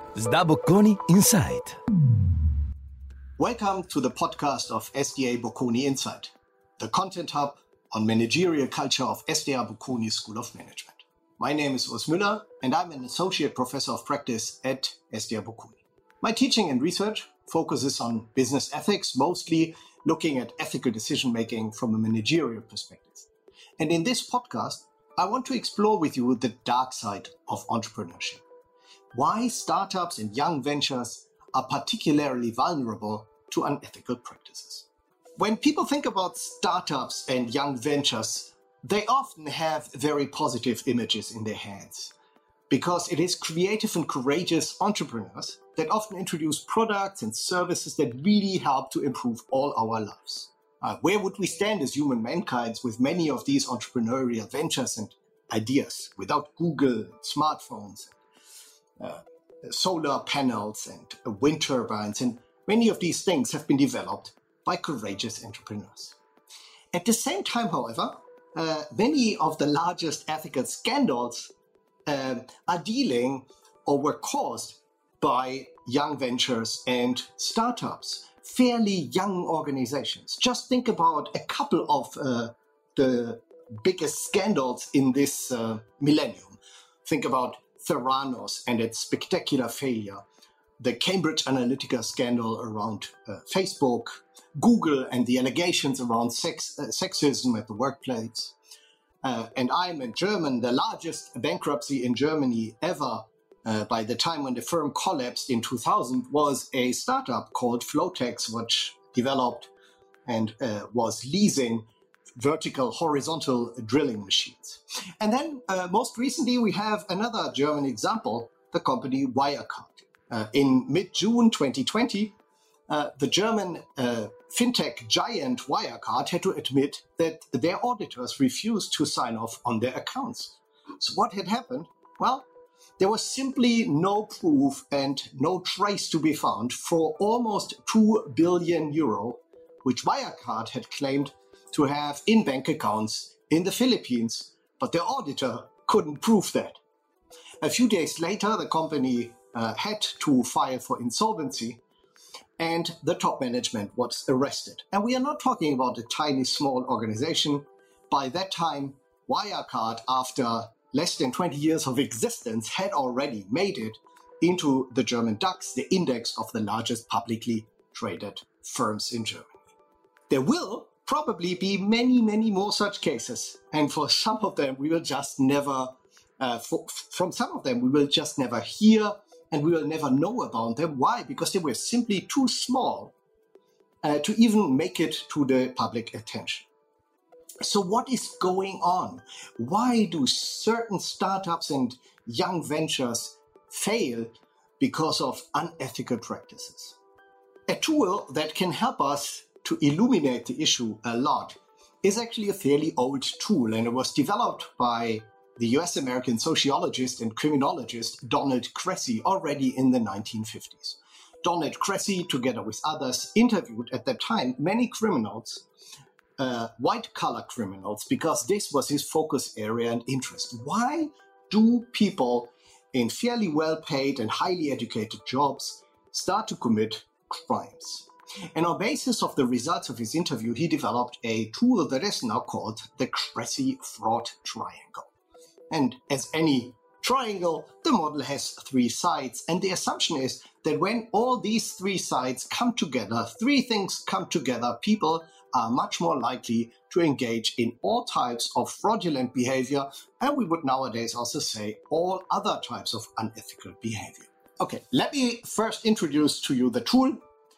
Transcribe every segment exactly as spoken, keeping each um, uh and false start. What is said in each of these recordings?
Sda Bocconi Insight. Welcome to the podcast of S D A Bocconi Insight, the content hub on managerial culture of S D A Bocconi School of Management. My name is Urs Müller, and I'm an associate professor of practice at S D A Bocconi. My teaching and research focuses on business ethics, mostly looking at ethical decision-making from a managerial perspective. And in this podcast, I want to explore with you the dark side of entrepreneurship. Why startups and young ventures are particularly vulnerable to unethical practices. When people think about startups and young ventures, they often have very positive images in their heads because it is creative and courageous entrepreneurs that often introduce products and services that really help to improve all our lives. Uh, where would we stand as human mankind with many of these entrepreneurial ventures and ideas without Google, smartphones, Uh, solar panels and uh, wind turbines, and many of these things have been developed by courageous entrepreneurs. At the same time, however, uh, many of the largest ethical scandals uh, are dealing or were caused by young ventures and startups, fairly young organizations. Just think about a couple of uh, the biggest scandals in this uh, millennium. Think about Theranos and its spectacular failure, the Cambridge Analytica scandal around uh, Facebook, Google and the allegations around sex, uh, sexism at the workplace. Uh, and I'm in German, the largest bankruptcy in Germany ever uh, by the time when the firm collapsed in two thousand was a startup called Flotex, which developed and uh, was leasing vertical, horizontal drilling machines. And then uh, most recently, we have another German example, the company Wirecard. Uh, in mid-June twenty twenty, uh, the German uh, fintech giant Wirecard had to admit that their auditors refused to sign off on their accounts. So what had happened? Well, there was simply no proof and no trace to be found for almost two billion euro, which Wirecard had claimed to have in bank accounts in the Philippines, but the auditor couldn't prove that. A few days later, the company uh, had to file for insolvency, and the top management was arrested. And we are not talking about a tiny, small organization. By that time, Wirecard, after less than twenty years of existence, had already made it into the German DAX, the index of the largest publicly traded firms in Germany. There will probably be many, many more such cases. And for some of them, we will just never, uh, for, from some of them, we will just never hear and we will never know about them. Why? Because they were simply too small uh, to even make it to the public attention. So what is going on? Why do certain startups and young ventures fail because of unethical practices? A tool that can help us to illuminate the issue a lot is actually a fairly old tool, and it was developed by the U S American sociologist and criminologist Donald Cressy already in the nineteen fifties. Donald Cressy, together with others, interviewed at that time many criminals, uh, white-collar criminals, because this was his focus area and interest. Why do people in fairly well-paid and highly educated jobs start to commit crimes? And on basis of the results of his interview, he developed a tool that is now called the Cressy Fraud Triangle. And as any triangle, the model has three sides. And the assumption is that when all these three sides come together, three things come together, people are much more likely to engage in all types of fraudulent behavior. And we would nowadays also say all other types of unethical behavior. Okay, let me first introduce to you the tool.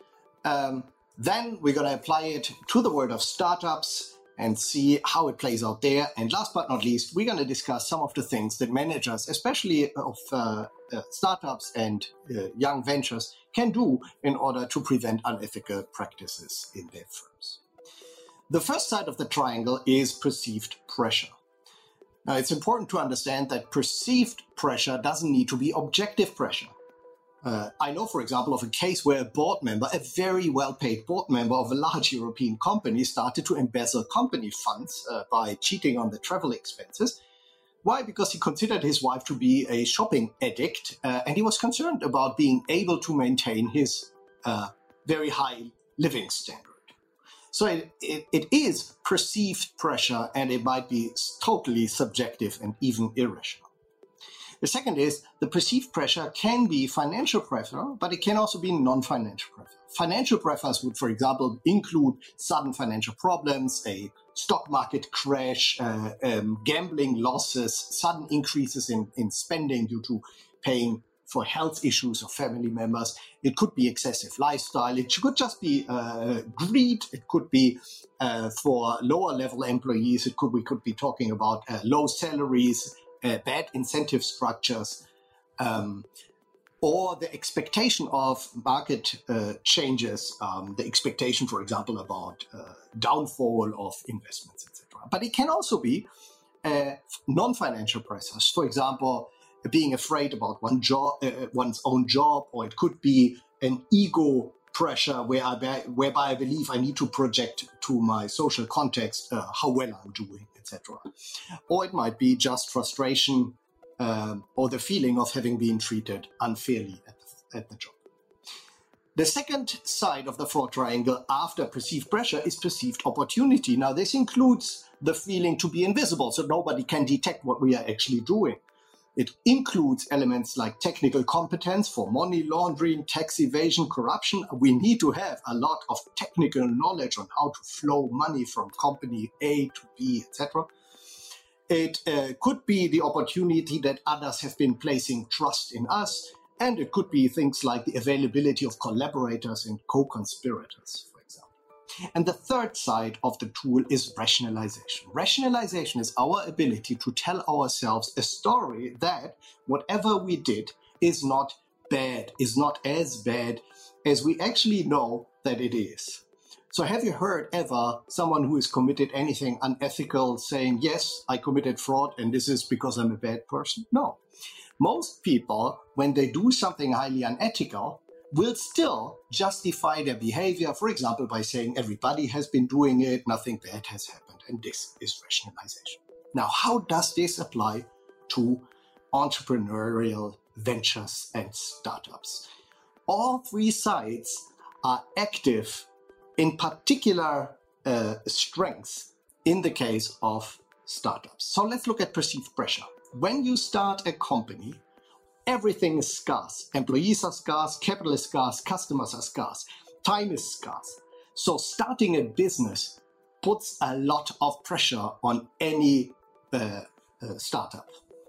Um, then we're going to apply it to the world of startups and see how it plays out there. And last but not least, we're going to discuss some of the things that managers, especially of uh, uh, startups and uh, young ventures, can do in order to prevent unethical practices in their firms. The first side of the triangle is perceived pressure. Now, it's important to understand that perceived pressure doesn't need to be objective pressure. Uh, I know, for example, of a case where a board member, a very well-paid board member of a large European company, started to embezzle company funds uh, by cheating on the travel expenses. Why? Because he considered his wife to be a shopping addict, uh, and he was concerned about being able to maintain his uh, very high living standard. So it, it, it is perceived pressure, and it might be totally subjective and even irrational. The second is the perceived pressure can be financial pressure, but it can also be non-financial pressure. Financial pressures would, for example, include sudden financial problems, a stock market crash, uh, um, gambling losses, sudden increases in, in spending due to paying for health issues of family members. It could be excessive lifestyle. It could just be uh, greed. It could be uh, for lower level employees. It could we could be talking about uh, low salaries, uh, bad incentive structures, um, or the expectation of market uh, changes. Um, the expectation, for example, about uh, downfall of investments, et cetera. But it can also be uh, non-financial pressures. For example, being afraid about one job, uh, one's own job, or it could be an ego pressure where I be, whereby I believe I need to project to my social context uh, how well I'm doing, et cetera. Or it might be just frustration um, or the feeling of having been treated unfairly at the, at the job. The second side of the fraud triangle after perceived pressure is perceived opportunity. Now, this includes the feeling to be invisible, so nobody can detect what we are actually doing. It includes elements like technical competence for money laundering, tax evasion, corruption. We need to have a lot of technical knowledge on how to flow money from company A to B, et cetera. It uh, could be the opportunity that others have been placing trust in us, and it could be things like the availability of collaborators and co-conspirators, for example. And the third side of the tool is rationalization. Rationalization is our ability to tell ourselves a story that whatever we did is not bad, is not as bad as we actually know that it is. So have you heard ever someone who has committed anything unethical saying, yes, I committed fraud and this is because I'm a bad person? No. Most people, when they do something highly unethical, will still justify their behavior, for example, by saying everybody has been doing it, nothing bad has happened, and this is rationalization. Now, how does this apply to entrepreneurial ventures and startups? All three sides are active in particular uh, strengths in the case of startups. So let's look at perceived pressure. When you start a company, everything is scarce. Employees are scarce, capital is scarce, customers are scarce, time is scarce. So starting a business puts a lot of pressure on any uh, uh, startup.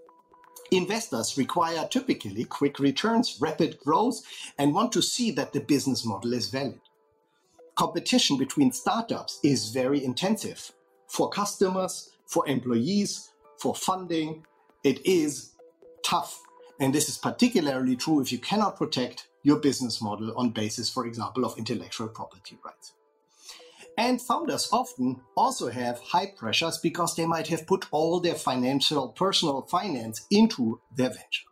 Investors require typically quick returns, rapid growth, and want to see that the business model is valid. Competition between startups is very intensive for customers, for employees, for funding. It is tough. And this is particularly true if you cannot protect your business model on basis, for example, of intellectual property rights. And founders often also have high pressures because they might have put all their financial, personal finance into their venture.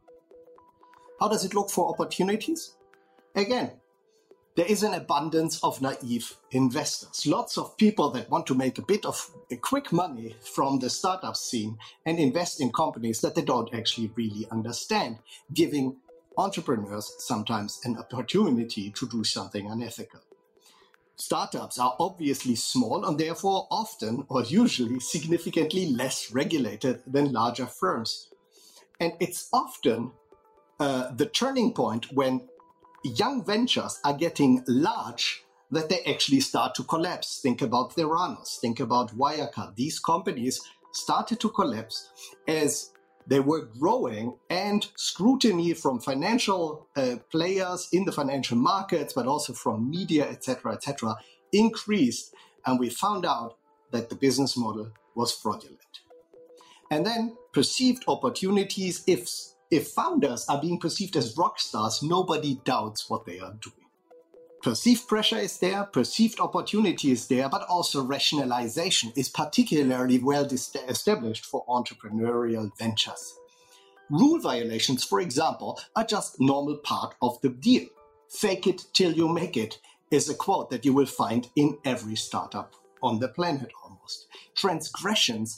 How does it look for opportunities? Again, there is an abundance of naive investors. Lots of people that want to make a bit of a quick money from the startup scene and invest in companies that they don't actually really understand, giving entrepreneurs sometimes an opportunity to do something unethical. Startups are obviously small and therefore often or usually significantly less regulated than larger firms. And it's often uh, the turning point when young ventures are getting large that they actually start to collapse. Think about Theranos, think about Wirecard. These companies started to collapse as they were growing and scrutiny from financial uh, players in the financial markets, but also from media, et cetera, et cetera, increased. And we found out that the business model was fraudulent. And then perceived opportunities, if If founders are being perceived as rock stars, nobody doubts what they are doing. Perceived pressure is there, perceived opportunity is there, but also rationalization is particularly well established for entrepreneurial ventures. Rule violations, for example, are just normal part of the deal. Fake it till you make it is a quote that you will find in every startup on the planet almost. Transgressions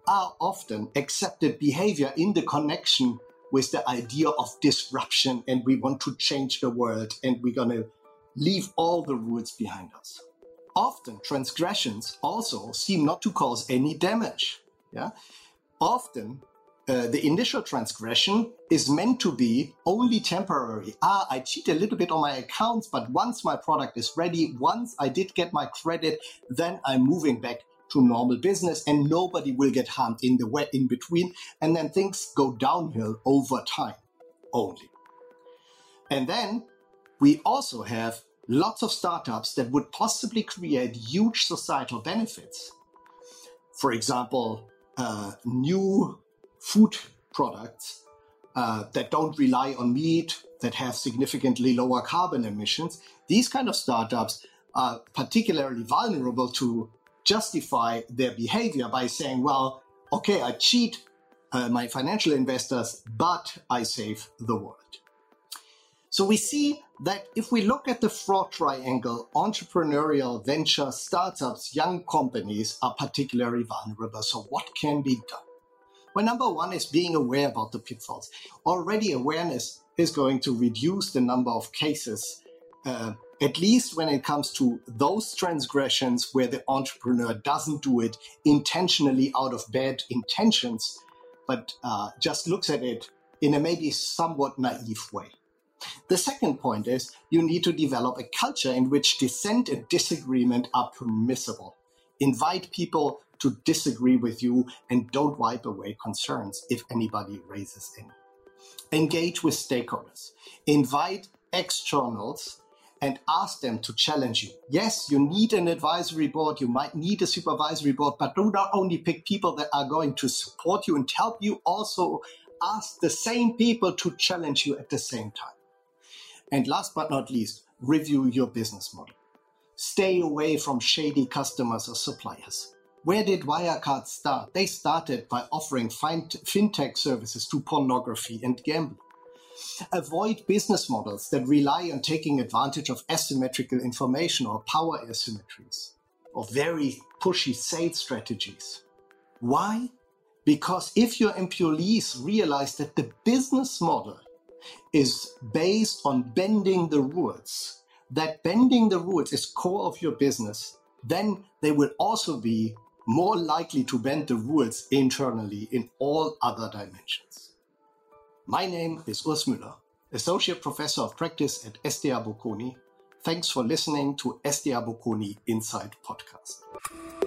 are often accepted behavior in the connection with the idea of disruption, and we want to change the world and we're going to leave all the rules behind us. Often transgressions also seem not to cause any damage. Yeah? Often uh, the initial transgression is meant to be only temporary. Ah, I cheat a little bit on my accounts, but once my product is ready, once I did get my credit, then I'm moving back to normal business and nobody will get harmed in the way in between. And then things go downhill over time only. And then we also have lots of startups that would possibly create huge societal benefits. For example, uh, new food products uh, that don't rely on meat, that have significantly lower carbon emissions. These kind of startups are particularly vulnerable to justify their behavior by saying, well, okay, I cheat uh, my financial investors, but I save the world. So we see that if we look at the fraud triangle, entrepreneurial venture startups, young companies are particularly vulnerable. So what can be done? Well, number one is being aware about the pitfalls. Already awareness is going to reduce the number of cases, uh, at least when it comes to those transgressions where the entrepreneur doesn't do it intentionally out of bad intentions, but uh, just looks at it in a maybe somewhat naive way. The second point is you need to develop a culture in which dissent and disagreement are permissible. Invite people to disagree with you and don't wipe away concerns if anybody raises any. Engage with stakeholders. Invite externals and ask them to challenge you. Yes, you need an advisory board, you might need a supervisory board, but do not only pick people that are going to support you and help you, also ask the same people to challenge you at the same time. And last but not least, review your business model. Stay away from shady customers or suppliers. Where did Wirecard start? They started by offering fintech services to pornography and gambling. Avoid business models that rely on taking advantage of asymmetrical information or power asymmetries, or very pushy sales strategies. Why? Because if your employees realize that the business model is based on bending the rules, that bending the rules is core of your business, then they will also be more likely to bend the rules internally in all other dimensions. My name is Urs Müller, Associate Professor of Practice at S D A Bocconi. Thanks for listening to S D A Bocconi Insight Podcast.